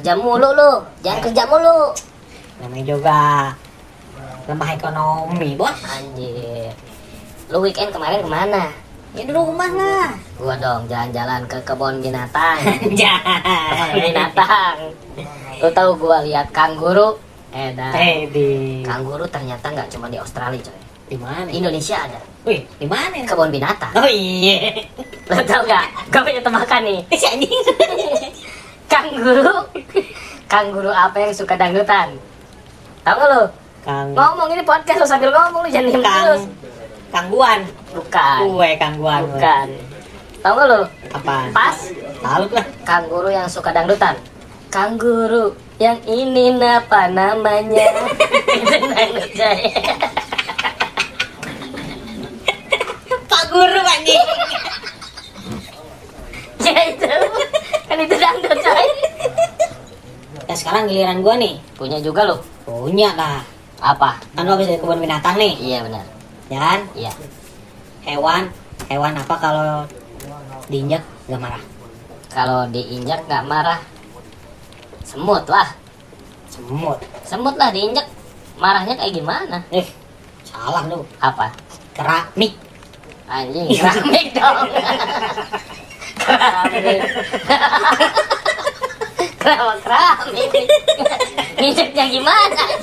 Kerja mulu lu, jangan kerja mulu. Namanya juga lemah ekonomi, Bos. Anjir. Lu weekend kemarin kemana? Ya di rumah lah. Gua dong jalan-jalan ke kebun binatang. Jangan. Kebun binatang. Lu tahu gua lihat kanguru? Dah. Di Kanguru ternyata nggak cuma di Australia, coy. di mana? Indonesia ada. Wih, di mana? Kebun binatang. Oh iya. Lu tahu nggak? Gua punya tebakan nih. Si anjing. Kanguru. Kanguru apa yang suka dangdutan? Tahu nggak lu? Kang Ngomong ini podcast lu sambil ngomong lu jangan diem terus. Kangguan. Bukan. Kue kangguan. Bukan. Tahu nggak lu? Apaan? Pas. Tahu lah. Kanguru yang suka dangdutan. Kanguru yang ini apa namanya? Itu dangdut saya. Pak Guru anjing. Ya itu. Kan itu dangdut coy. Ya sekarang giliran gua nih. Punya juga lu. Punya lah. Apa? Kan lo habis dari kebun binatang nih. Iya benar. Dan Iya. hewan apa kalau diinjak gak marah? Kalau diinjak nggak marah. Semut lah. Semut. Semut lah diinjak. Marahnya kayak gimana? Salah lu. Apa? Keramik. Anjing, keramik dong. Keramik. Kenapa keramik? Nginjeknya gimana?